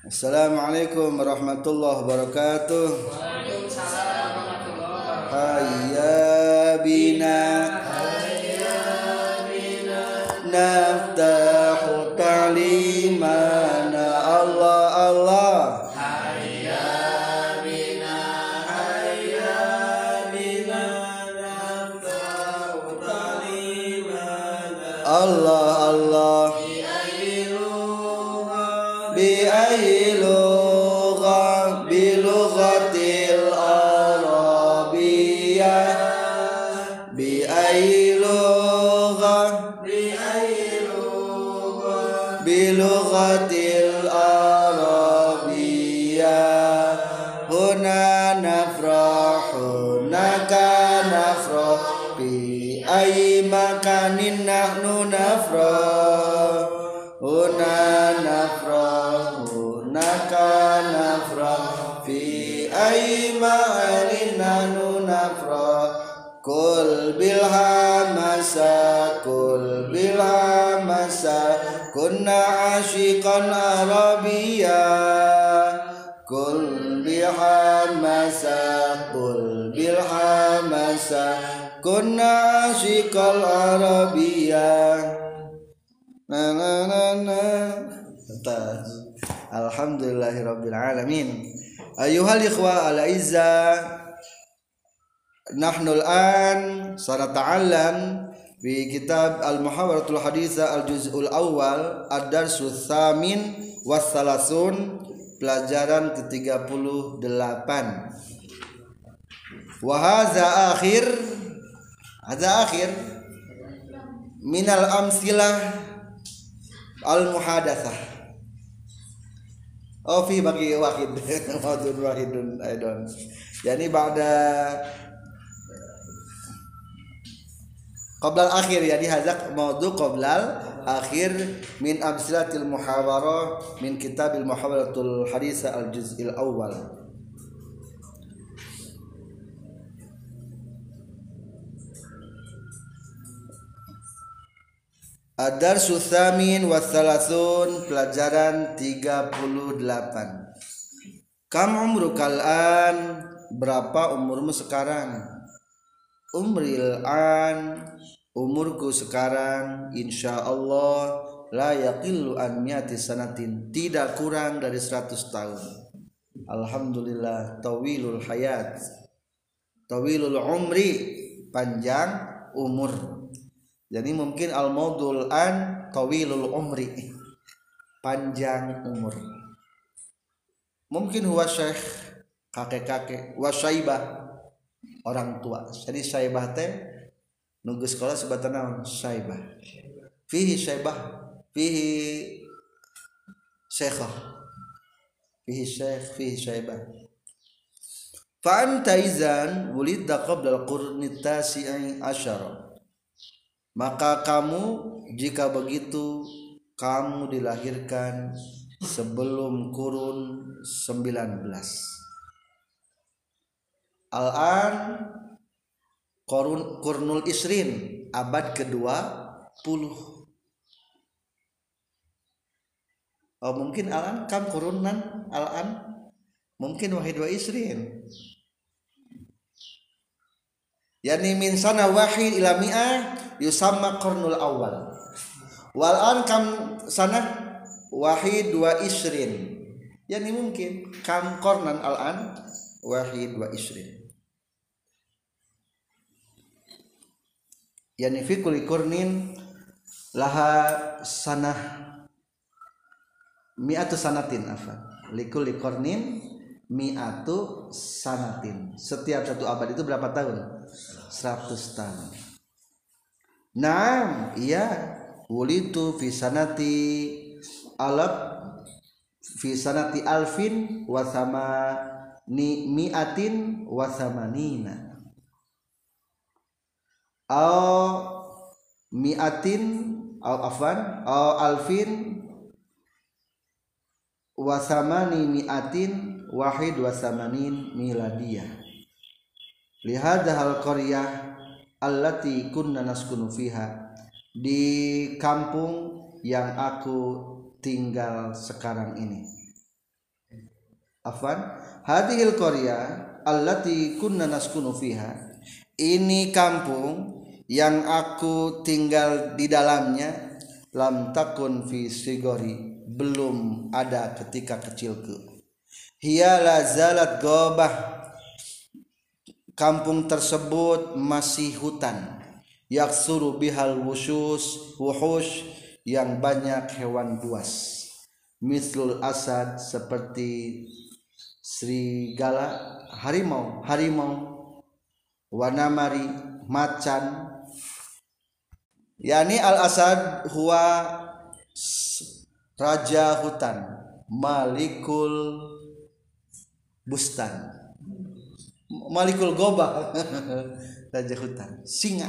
Assalamualaikum warahmatullahi wabarakatuh. Waalaikumsalam warahmatullahi wabarakatuh. Hayya bina naftahu ta'limana Allah Allah. Hayya bina naftahu ta'limana Allah Allah. Bi ayyi lughah bi lughatil arabiyyah bi ayyi lughah bi lughatil arabiyyah huna nafrahu naka nafrah bi ayyi makanin nahnu nafrah huna nafrah hunaka nafrah fi ayyi ma'anin nahnu nafrah kul bil hamasa kunna ashiqan arabiyya kul bil hamasa kunna ashiqal arabiyya. Alhamdulillahirabbil alamin. Ayyuhal ikhwa al izza, nahnu al-an sanata'allam bi kitab al-muhawaratul haditsa al-juz'ul awal ad-darsul tsamin was salasun, pelajaran ke-38. Wa hadza akhir minal amsilah al-muhadatsah. Oh fi bagi wahid maudun wahidun aidan. Yani ba'da qabla al-akhir, yani hadza maudhu qabla al-akhir min amsilatil muhawarah min kitabil muhawaratul haditsa al-juz'il awwal. Ad-darsu tsamin wa tsalasun, pelajaran 38. Kam umrukal an, berapa umurmu sekarang? Umril an, umurku sekarang insyaallah la yaqillu an mi'ati sanatin, tidak kurang dari 100 tahun. Alhamdulillah, tawilul hayat, tawilul umri, panjang umur. Jadi mungkin al-maudul an tawilul umri, panjang umur. Mungkin huwa syekh, kakek-kakek, wa syaibah, orang tua. Jadi syaibah teh nunggu sekolah sebatan naon? Syaibah. Fihi syaibah, fihi syekhah, fihi syekh, fihi syaibah. Fa anta izan wulidta qabla al-qurni tasi'i asyara. Maka kamu, jika begitu, kamu dilahirkan sebelum kurun 19. Al-an Qurnul Isrin, abad ke-20. Oh, mungkin al-an kam kurunan al-an mungkin wahid wa isrin. Yani min sana wahid ila mi'ah yusamma qarnul awal. Wal an kam sana wahid wa isrin. Yani mungkin kam qarnan al an wahid wa isrin. Yani fi kulli qarnin laha sanah mi'atu sanatin afan. Li kulli qarnin mi'atu sanatin. Setiap satu abad itu berapa tahun? 100 tahun. Naam, iya, wulitu fi sanati alfin wa samani mi'atin wa samanina. Mi'atin alfin wa samani mi'atin wahid wa samanin miladiyah. Lihadahal qaryah allati kunna naskunu fiha, di kampung yang aku tinggal sekarang ini. afwan hadhil qaryah allati kunna naskunu fiha, ini kampung yang aku tinggal di dalamnya, lam takun fi sigori, belum ada ketika kecilku, hiya la zalat ghabah, kampung tersebut masih hutan, yaksuru bihal wuhush, yang banyak hewan buas, mislul asad, seperti serigala, harimau, wanamari, macan. Yani al asad huwa raja hutan, malikul bustan, malikul gobah raja hutan, singa.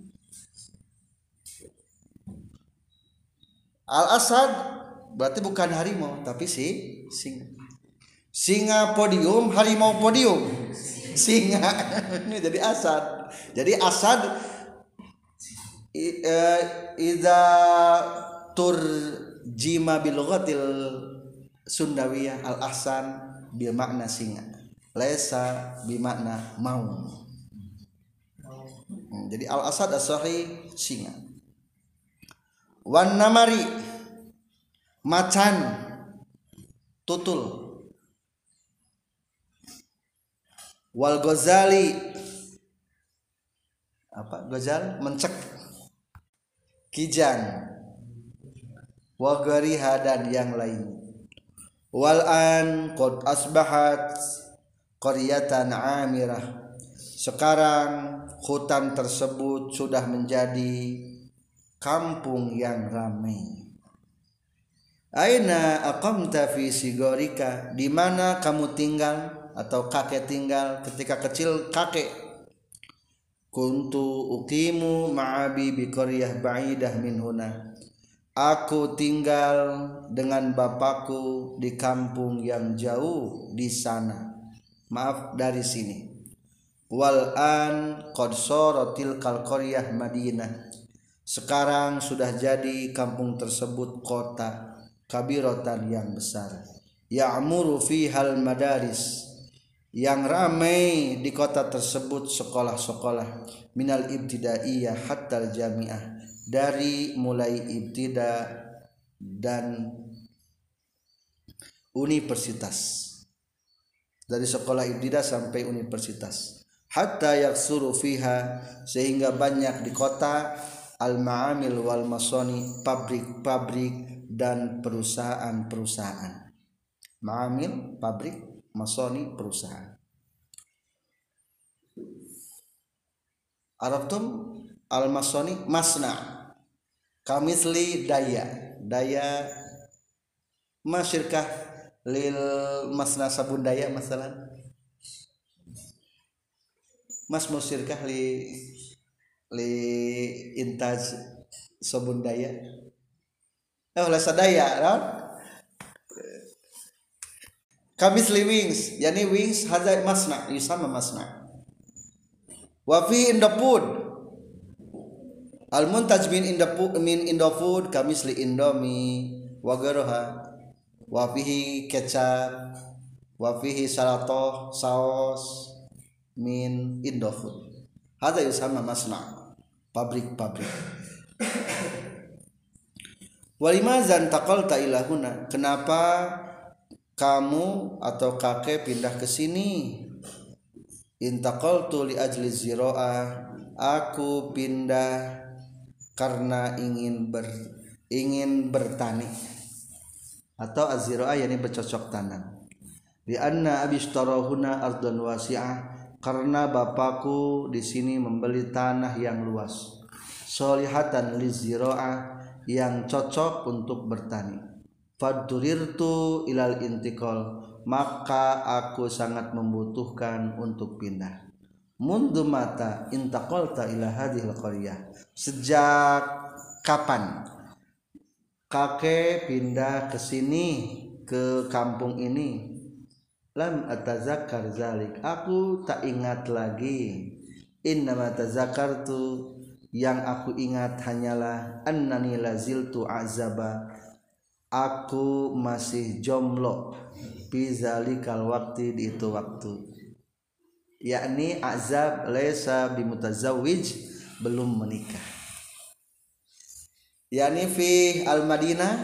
Al asad berarti bukan harimau tapi singa. Singa podium, harimau podium, singa. Ini jadi asad. Jadi asad idza turjima bil lughatil sundawiyah al ahsan bil makna singa, laisa bi makna maung. Jadi al asad as-sahih singa. Wan namari, macan, tutul. Wal ghazali, apa ghazal, mencek, kijang. Wa ghariha, dan yang lain. Wal an qad asbahat qaryatan amirah, sekarang hutan tersebut sudah menjadi kampung yang ramai. Aina aqamta fi sigorika, di mana kamu tinggal atau kakek tinggal ketika kecil kakek. Kuntu uqimu ma'abi bi qaryah ba'idah min huna, aku tinggal dengan bapakku di kampung yang jauh di sana, maaf dari sini. Wal an qad saratil kal qaryah madinah, sekarang sudah jadi kampung tersebut kota kabiratan yang besar. Ya'muru fihal madaris, yang ramai di kota tersebut sekolah-sekolah, minal ibtidaiyah hatta jamiah, dari mulai ibtida dan universitas, dari sekolah ibtida sampai universitas. Hatta yaksuru fiha, sehingga banyak di kota al-ma'amil wal masoni, pabrik-pabrik dan perusahaan-perusahaan. Ma'amil pabrik, masoni perusahaan. Arabtum al-masoni masna, kamisli daya masyirkah lil masna sabun daya masalan, mas musyirkah li intaj sabun daya, sadaya kan? Kamisli wings, yani wings hadza masna, yusama masna. Wa fi in the food, al muntaj min in the food kamisli indomie wa garoha, wa fihi kecap, wa fihi salatoh, saus min in the food. Hadza yusama masna, pabrik-pabrik. Walimazan taqalta ila huna, kenapa kamu atau kakek pindah ke sini? Intaqaltu li ajli ziraah, aku pindah karena ingin bertani, atau aziraah yani bercocok tanam. Li anna abishtarahuna ardhan wasi'ah, karena bapakku di sini membeli tanah yang luas, solihatan li ziraah, yang cocok untuk bertani. Faddurirtu ilal intikal, maka aku sangat membutuhkan untuk pindah. Mundu mata intaqalta ila hadhil qaryah, sejak kapan kakek pindah ke sini, ke kampung ini? Lam atazakkar zalik, aku tak ingat lagi. Innama tazakartu, yang aku ingat hanyalah annani laziltu azaba, aku masih jomblo, fi zalikal waqti di itu waktu, yakni azab laisa bimutazawwij, belum menikah, yakni fi al Madinah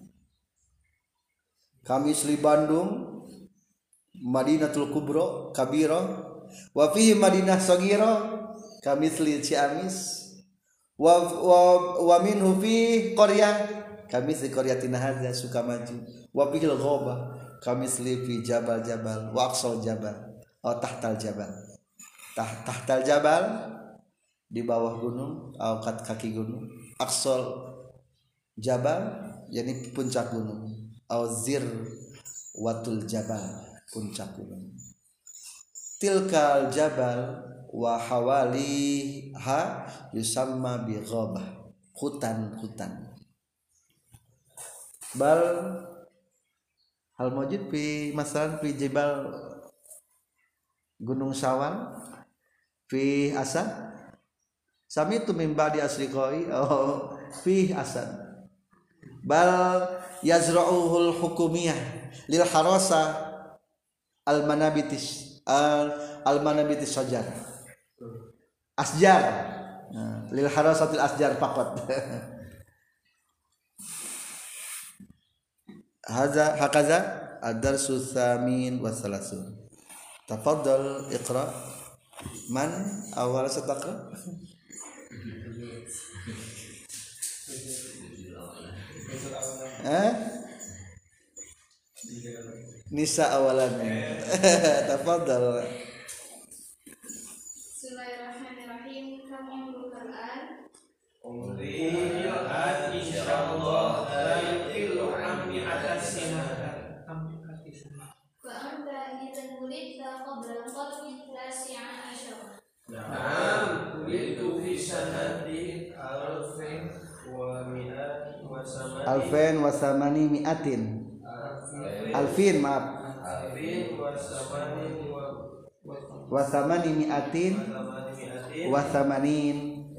kami Sri Bandung Madinatul Kubro Kabiro, wa fihi Madinah Sagira kami Sri Ciamis, wa minhu fi qaryah kami Sri Qaryatina hadza Sukamaju, wa fil ghaba kami Sri fi Jabal Jabal wa aqsal Jabal atau tahtal Jabal, tahtal Jabal di bawah gunung atau kaki gunung, aqsal Jabal yakni puncak gunung, atau zir watul Jabal puncak gunung, tilkal Jabal wa hawaliha yusamma bi ghabah, hutan bal hal mawjud fi masalan fi jibal gunung Sawal fi asad sami tu min ba'di asriqai oh fi asad bal yazra'uhul hukumiyah lil harasa al manabitis sajar asjar lil harasatil asjar faqat hadza hakaza ad-darsu tsamin wa salasun. Tafaddal iqra man awal sataqra Nisa awalan. Tafaddal. Bismillahirrahmanirrahim. Kam umrul Qur'an? Umrul Qur'an insyaallah la yuqillu an mi'atas sinah. Fa anta idzan wulidta qabla al-qarni tasi'a asyara. Na'am, wulidtu fi sanati alfin wa mi'at wa samani. Alfin wa samani mi'atin. Alfin maaf. Alfin wa samani Wa samani mi'atin wa samanin.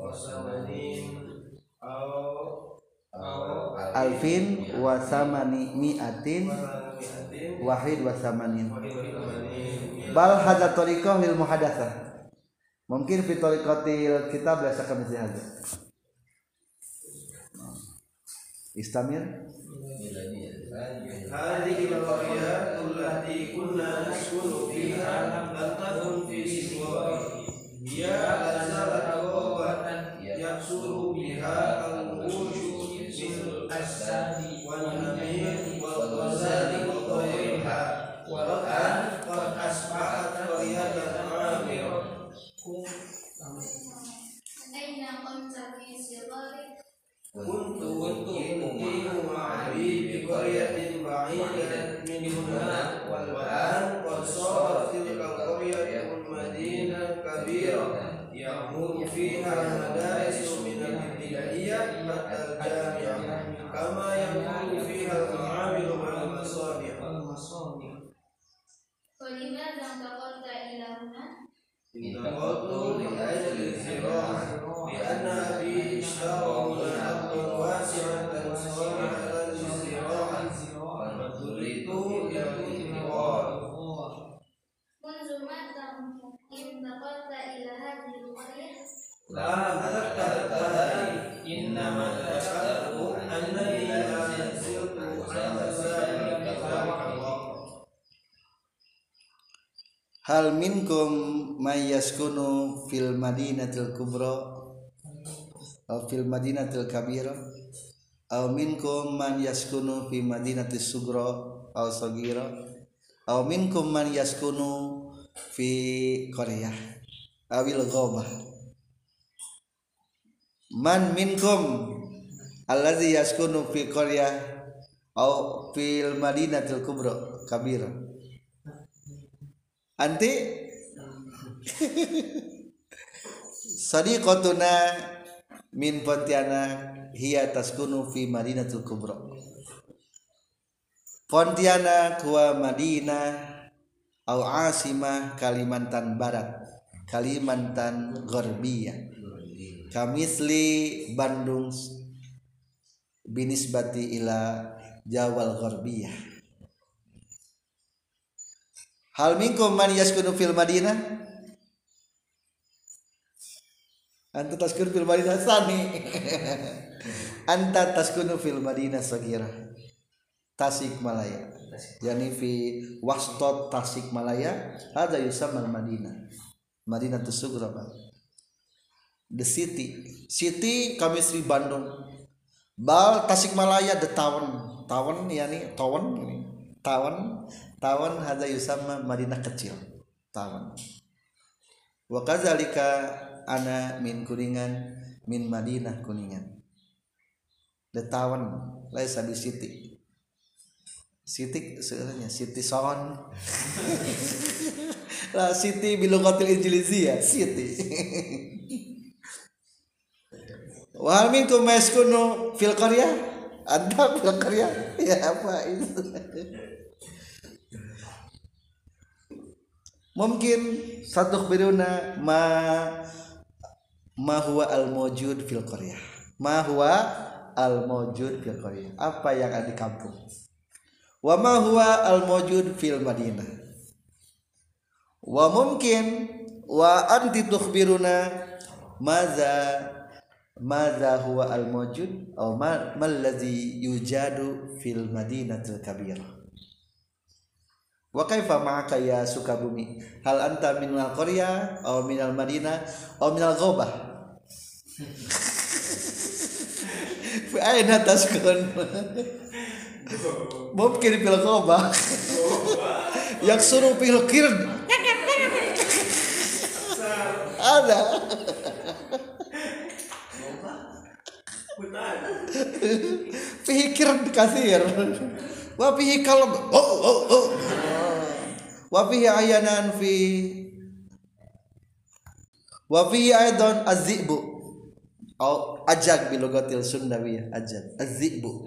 Alfin wa samani mi'atin wahid wa samanin. Bal hadza tariqah lil muhadatsah. Mungkin fi tariqatil kitab la syakka mithli hadza. Istamir. Hadhihi al-qaryah allati kunna naskunu fiha lam takun fi siwa'i. Ya azalat qawatan yaksuru biha al-wujud min as-sadi wal namir wal ghazali wa ghayriha wa kan qad asbahat qaryatan amirah. Aina qamta fi sighari? Kuntu muqimu ma'abi bi qaryatin ba'idatin min huna wal an qad sarat tilka al-qaryatu madinatan kabirah ya'muru fiha madaris min al-ibtidaiyah hatta al-jami'ah kama ya'muru fiha al-ma'amil wal masani'. Wa limadha intaqalta ila huna? Intaqaltu li ajli al-zira'ah لأن أبي اشترى هنا أرضا واسعة صالحة للزراعة فاضطررت إلى الانتقال. منذ متى intaqalta ila hadhihi al-qaryah? لا أتذكر إنما تذكرت أنني لا زلت عن ذلك الوقت. Hal minkum may yaskunu fil madinatil kubra aw fil madinatil kabira aw minkum man yaskunu fi madinatis sugra aw sagira aw minkum man yaskunu fi qaryah awil ghabah. Man minkum allazi yaskunu fi qaryah aw fil madinatil kubra kabira. Anti sadiqatuna min Pontianak hiya taskunu fi Madinatul Kubra. Pontianak wa Madinah au asimah Kalimantan Barat, Kalimantan Gharbiyah. Kamisli Bandung binisbati ila Jawal Gharbiyah. Hal minkum man yaskunu fil Madinah? Anta taskunu fil Madinah sani. Anta taskunu fil Madinah sagira. Tasikmalaya. Yani fi wastot Tasikmalaya ada yusamma Madinah. Madinah Sugra. The city kami Sri Bandung. Bal Tasikmalaya the town yani town hada yusamma Madinah kecil town. Wa kadzalika ana min Kuningan min Madinah Kuningan. The town laisa bi city sebenarnya city sound la city bilugatil injiliziyah city. Wa hal minkum yaskunu fil qaryah? Anta fil qaryah? Ya apa itu? Mungkin satu biruna ma huwa al mawjud fil qaryah. Ma huwa al mawjud fil qaryah. Apa yang ada di kampung? Wa ma huwa al mawjud fil Madinah. Wa mungkin wa anti tukhbiruna madza huwa al mawjud aw ma alladhi yujadu fil Madinatil kabirah. Wa kaifa ma'aka ya Sukabumi? Hal anta minal qaryah aw minal Madinah aw minal ghabah? Fa aina taskun? Mungkin fil ghabah. Yaksuru fil qird. Ada. Fihi qird katsir. Wa fihi kalb. Wa fihi ayanan wa fihi aidan az-zi'bu atau ajag bilogatil Sundawiyah ajag az-zi'bu.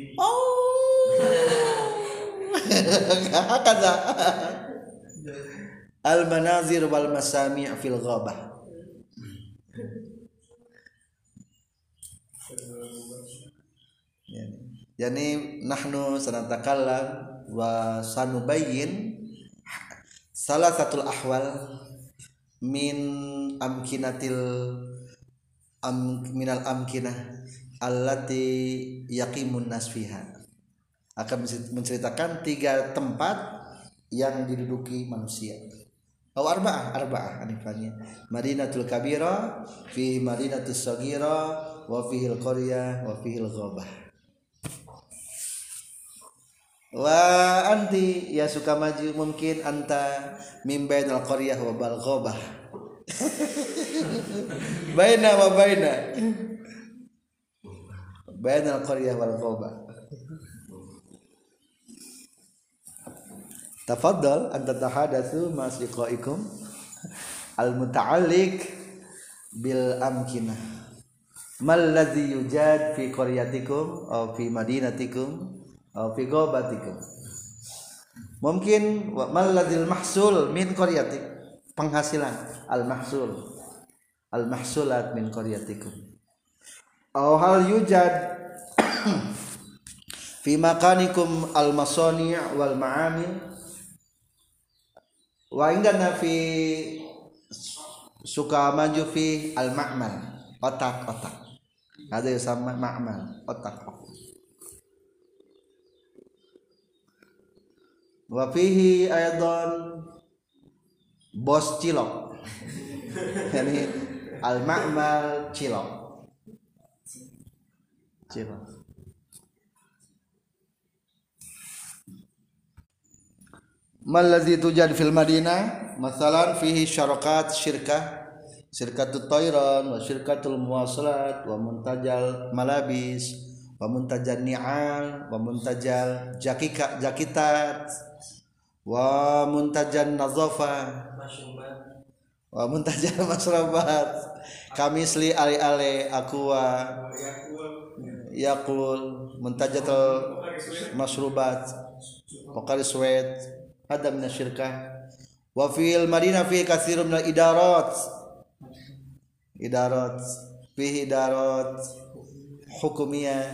Kata al-manazir wal masami' fil ghabah. Yani nahnu sanatakallam wa sanubayyin salah satu ahwal min minal amkinah allati yaqimun nas fiha. Akan menceritakan 3 tempat yang diduduki manusia. Arba'ah anifannya. Madinatul kabira, fi Madinatus sagira, wa fihil qaryah, wa fihil ghabah. Wa anti ya Sukamaju mungkin anta min bainal qaryah wa bal ghabah. Baina wa bainal qaryah wal ghabah. Tafaddal anta tahadatsu ma siqaikum al muta'alliq bil amkinah. Mal ladzi yujad fi qaryatikum aw fi madinatikum fi ghabatikum. Mungkin mal ladzil mahsul min qaryatik, penghasilan al mahsulat min qaryatikum. Aw hal yujad fi makanikum al masani' wal ma'amil wa indana fi Sukamaju fi al ma'mal otak. Ada yang sama ma'mal otak. Wa fihi aidan bos cilok. Yani al-ma'mal cilok. Mal ladzi tujad fil Madinah masalan fihi syarakat syirkatut tayran wa syirkatul muwasalat wa muntajal malabis wa muntajal ni'al wa muntajal jakitat wa muntajal nazafa wa muntajal masrabat kamisli ale aqua yaqul muntajatul masrubat Pokari Suwed ada min syirkah wa fil Madinah fi katsirun min idarat fihi idarat hukumiyah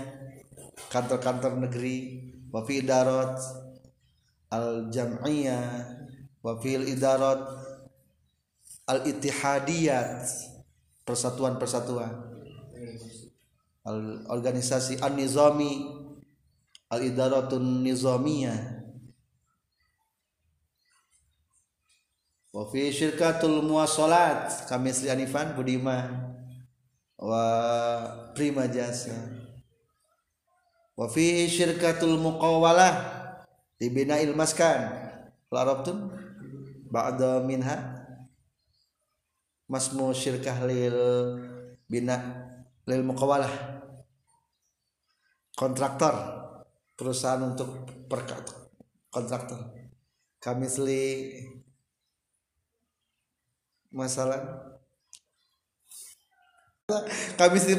kantor-kantor negeri wa fi idarat al jam'iyah wa fil idarat al ittihadiyat persatuan-persatuan, al organisasi an-nizami al idaratun nizamiyah, wa fi syirkatul muwasalat kamisli Anifan Budiman wa Prima Jasa, wa fihi syirkatul muqawalah di bina'il maskan larabtum ba'da minha masmu syirkah lil bina lil muqawalah, kontraktor perusahaan untuk kontraktor kamisli masalah kamisli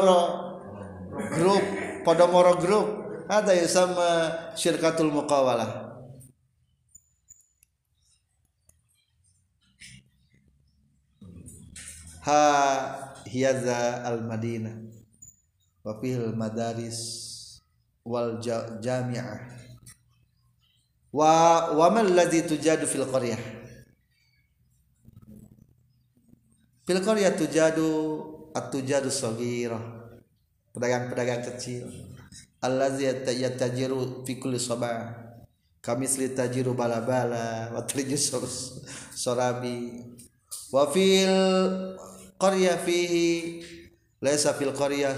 Podomoro Group ada yang sama syirkatul muqawalah. Ha hiyaza al Madinah wa fil madaris wal jami'ah wa man ladzi tujadu fil qaryah tujadu at-tujadu shaghirah, pedagang-pedagang kecil, allazi yatajiru fi kulli sabah kamisli tajiru balabala wa trijus sorabi, wa fil qarya fihi laysa fil qarya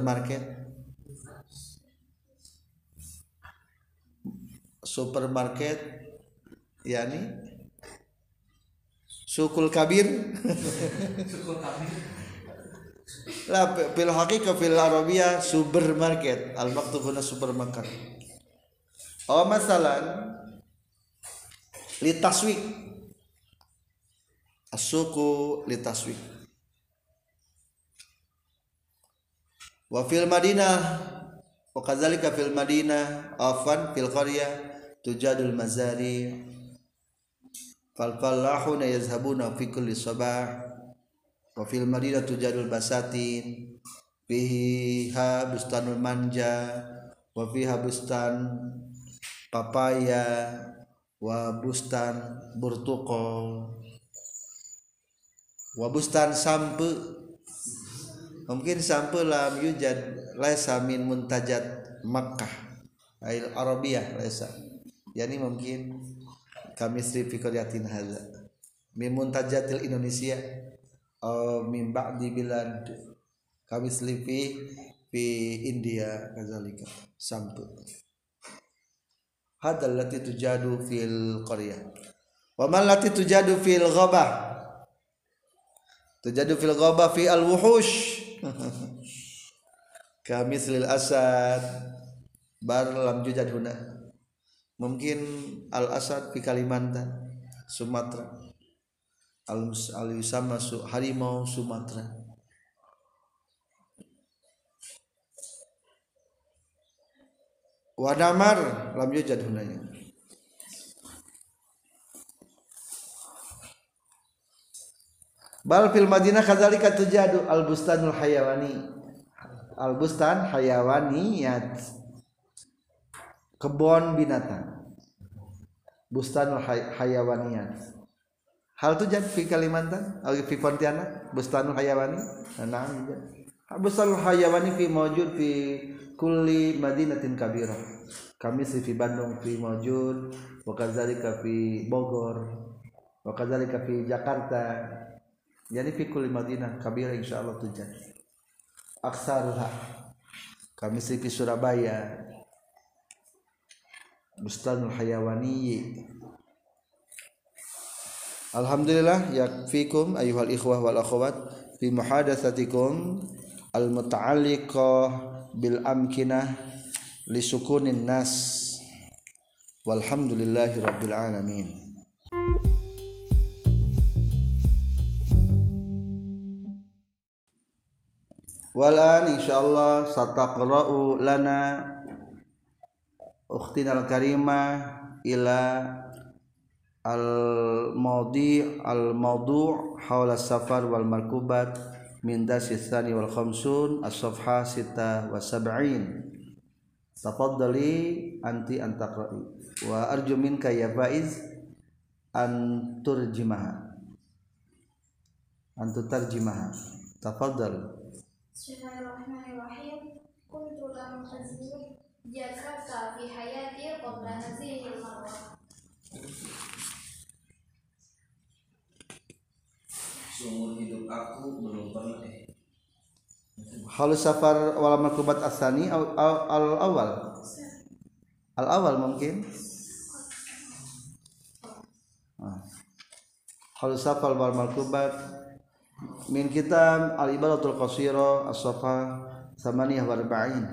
supermarket yani sukul kabir la fil haqiqah fil arabiyah supermarket al maktub huna supermarket. Oh masalan litaswik as-suku litaswik, wa fil madinah wa kadzalika fil madinah afan fil qaryah tujadul mazari fal fallahuna yazhabuna fi kulli sabah, wa fil madinah tujadul basatin fiha bustanul manja wa fiha bustan papaya wa bustan burtuqal wa bustan sampe, mungkin sampe lam yujad laisa min muntajat Makkah al arabiyah laisa, yani mungkin kami fi qaryatin hadza min muntajatil Indonesia min ba'di bilad kami fi India kadzalika sampai hadal lati tujadu fil qaryah wa man lati tujadu fil ghabah fi al wuhush kami silil asad bar lam jujad huna, mungkin al asad fi Kalimantan Sumatera al yusamma harimau Sumatera, wa namar lam yujad hunanya. Bal fil Madinah kadzalika tujadu al bustanul hayawaniyat kebun binatang bustanul hayawaniyat. Hal tujad fi Kalimantan atau fi Pontianak bustanul hayawani, nah bustanul hayawani fi mawjud fi kulli madinatin kabirah kami fi Bandung fi mawjud wa kadzalika fi Bogor wa kadzalika fi Jakarta, jadi fi kulli madinah kabirah insyaallah tujad aksaruha kami fi Surabaya bustanul hayawani. Alhamdulillah yakfikum ayyuhal ikhwah wal akhwat fi muhadatsatikum al muta'alliqah bil amkinah li sukunin nas walhamdulillahi rabbil alamin. Walan insyaallah sataqra'u lana ukhtina al karimah ila al-mawdu' hawla safar wal markubat min dasis tsani wal khamsun as-safha 76. Tafaddali anti an taqra'i wa arju minka ya Faiz anturjimaha antutarjimaha tafadhal. Bismillahirrahmanirrahim. Kuntu lam azur Jakarta fi hayati qabla hadhihi al-marrah. Seumur hidup aku belum pernah Hal safar wal markubat asani al awal al awal mungkin hal safar wal markubat min kitab al ibaratul qasira as-safa 48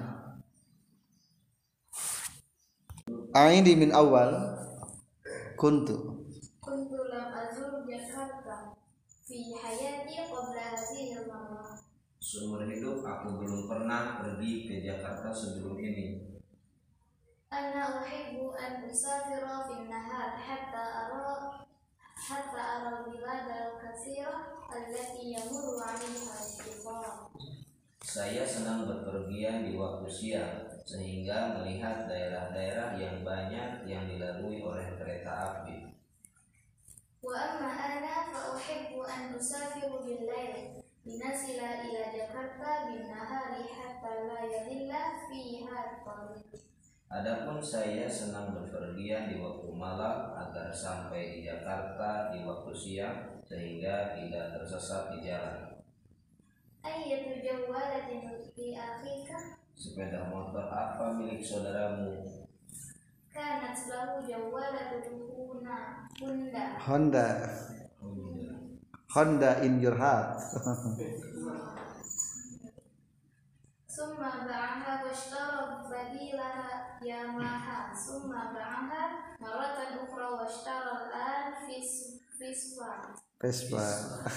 aini min awal kuntu Lam azur Jakarta fi hayati qabla hadhihi al-marrah. Seumur hidup aku belum pernah pergi ke Jakarta sebelum ini. Ana uhibbu an usafira fi an-nahar hatta ara al-bilad al-katsira allati yamurru 'alayha al-qifar. Saya senang berpergian di waktu siang sehingga melihat daerah-daerah yang banyak yang dilalui oleh kereta api. Wa amma ana fa uhibbu an usafiru bil-lail linasila ila Jakarta bin-nahari hatta la yadilla fiha at-tariq. Adapun saya senang berpergian di waktu malam agar sampai di Jakarta di waktu siang sehingga tidak tersesat di jalan. Ayyatu jawalatin li akhika? Sepeda motor apa milik saudaramu? Kanat lahu jawalatun Honda in your heart. Summa ba'aha washtara badilaha Yamaha. Summa ba'aha maratan ukhra washtara al-an Vespa.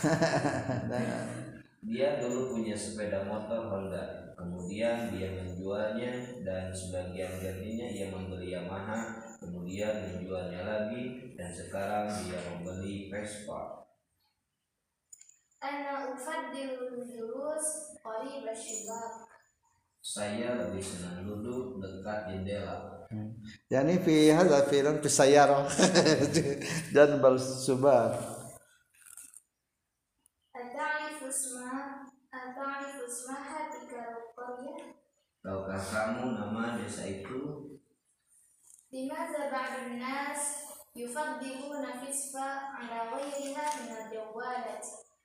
Dia dulu punya sepeda motor Honda, kemudian dia menjualnya dan sebagian gantinya ia membeli Yamaha, kemudian menjualnya lagi dan sekarang dia membeli Vespa. Ana ufaddilul julus qarib asyibab. Saya lebih senang duduk dekat jendela. Yani fi hadza fi'lan fi sayyarah dan bal subab. Ata'rifu ismaha tilka qaryah? Tahukah kamu nama desa itu? Limadza ba'dun nas yufaddiluna Vespa ala ghayriha min al-jawalat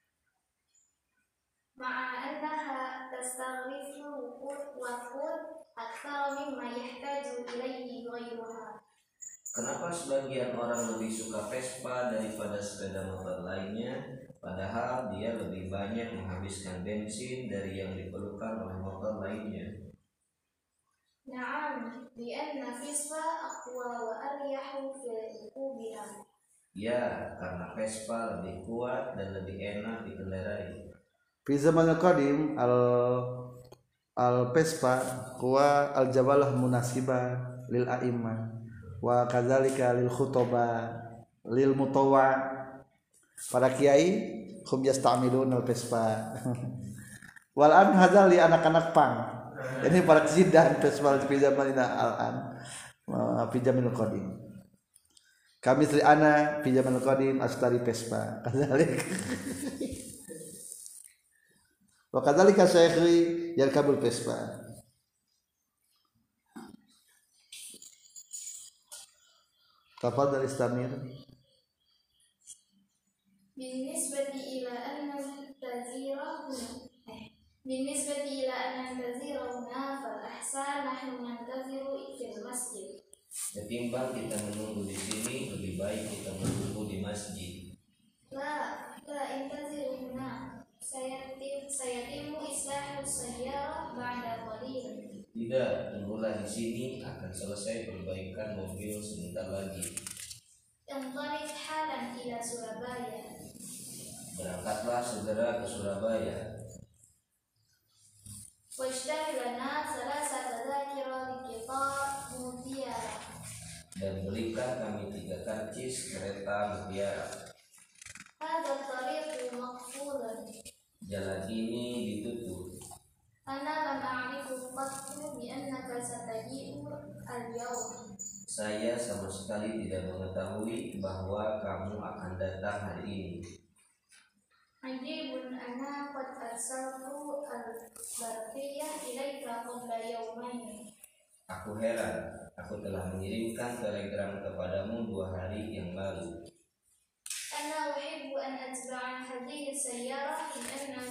ma'a annaha tastaghrifu waqud akthar mimma yahtaju ilayhi ghayruha. Kenapa sebagian orang lebih suka Vespa daripada sepeda motor lainnya, padahal dia lebih banyak menghabiskan bensin dari yang diperlukan oleh motor lainnya? Na'am, li'anna Vespa aqwa wa aryahu fil rukubiha. Ya, karena Vespa lebih kuat dan lebih enak dikendarai. Fi zaman qadim al Vespa huwa al jawalah munasiba lil a'immah wa kadzalika lil khutaba lil mutawwa. Para kiai hum yastamilun al Vespa. Wal an hadzal li anak-anak pang. Ini para sidan Vespa fi zamanina al-an fi zamanil qadim. Kami sri ana fi zamanil qadim astari Vespa. Kadzalik. Wa kadzalika syaikhi yarkabul Vespa. Tafadhal istamir. Binisbati ila anna tazira fal ahsan nahnu nantaziru fil masjid. Ketimbang kita menunggu di sini, lebih baik kita menunggu di masjid. La intaziru huna. Sayatimu islahu sayyara ba'da qalil. Tidak, tunggulah di sini, akan selesai perbaikan mobil sebentar lagi. Intalik halan ila Surabaya. Berangkatlah segera ke Surabaya. Washtari lana salasata dzakira liqitar mutiara. Dan belikan kami 3 karcis kereta mutiara. Hadha tariqu maqfulan. Jalan ini ditutup. Ana lam a'rifu qattu bi annaka sataji'u al-yawm. Saya sama sekali tidak mengetahui bahwa kamu akan datang hari ini. Ajibun ana qad arsaltu al-barqiyah ilaika qabla yawmain. Aku heran, aku telah mengirimkan telegram kepadamu 2 hari yang lalu. Ana uhibbu an atba'a hadhihi sayyarah in anna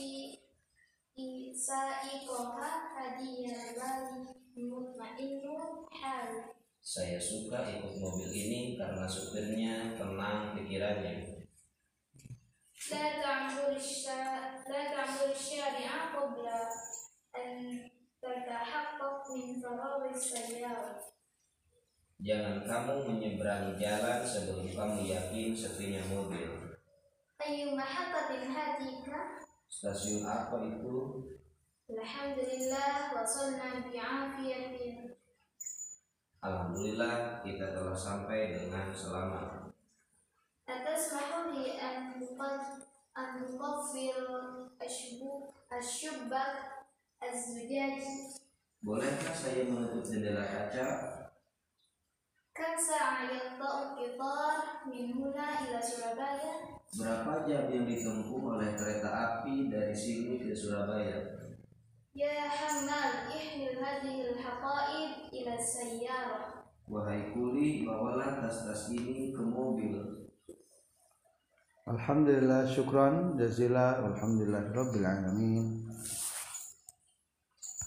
sa'iqaha hadiyan bali mutmainnun hal. Saya suka ikut mobil ini karena supirnya tenang pikirannya. La ta'mur syari'a qabla an tatahaqqaq min faraghi sayyarah. Jangan kamu menyeberangi jalan sebelum kamu yakin sepinya mobil. Ayyu mahaqqatin hadika? Stasiun apa itu? Alhamdulillah wasalna bi'afiyatin. Alhamdulillah kita telah sampai dengan selamat. Atasmahu li an nuqaffir asyubbak az-zujaj. Bolehkah saya menutup jendela kaca? Kam sa'a yaqta'u qitar min huna ila Surabaya? Berapa jam yang ditempuh oleh kereta api dari sini ke Surabaya? Ya Hammal, ihmil hadhihi al-haqa'id ila sayyarah. Wahai kuli, bawalah tas-tas ini ke mobil. Alhamdulillah, syukran jazila, alhamdulillah rabbil alamin.